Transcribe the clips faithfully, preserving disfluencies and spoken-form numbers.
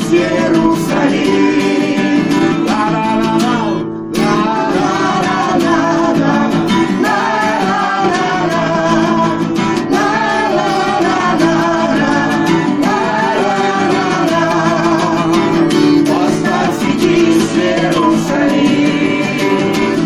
Иерусалим. Ла-ла-ла-ла, ла-ла-ла-ла, ла-ла-ла-ла, восстань, светись, Иерусалим.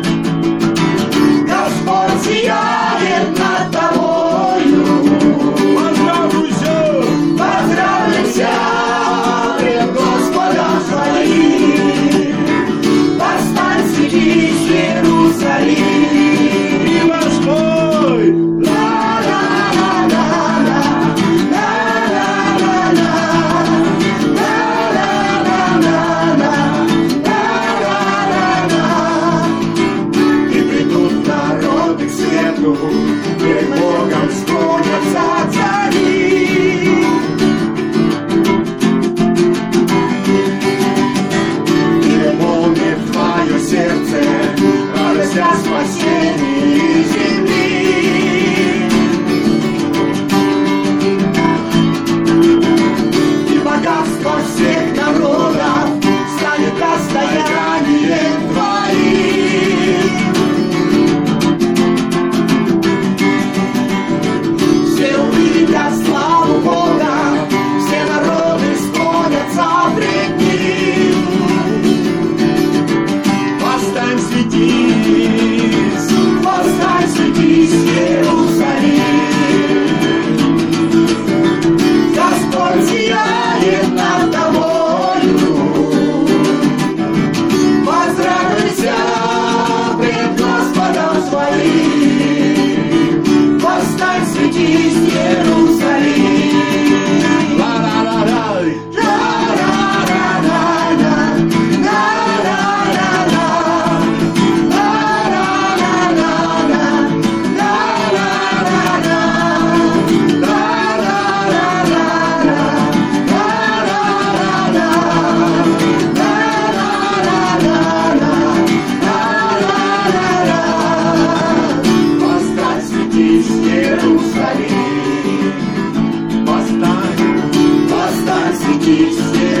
Господь сияет над тобою. Поздравляйся, поздравляйся пред Господом своим. Восстань, светись, Иерусалим. И воспой. Ла-ла-ла-ла-ла, ла-ла-ла-ла, ла-ла-ла-ла, и придут народы к свету, пред Богом склонятся цари. И наполнит твое сердце радость о спасении земли. И богатство всех народов станет достоянием твоим. Все увидят славу Бога, все народы склонятся пред Ним. Восстань, светись, восстань, светись, Иерусалим. Господь сияет над тобою. Поздравляйся пред Господом своим. Восстань, светись, Иерусалим. Ла-ла-ла-ла, ла-ла-ла-ла, ла-ла-ла-ла, восстань, светись, Иерусалим. Восстань, восстань, светись,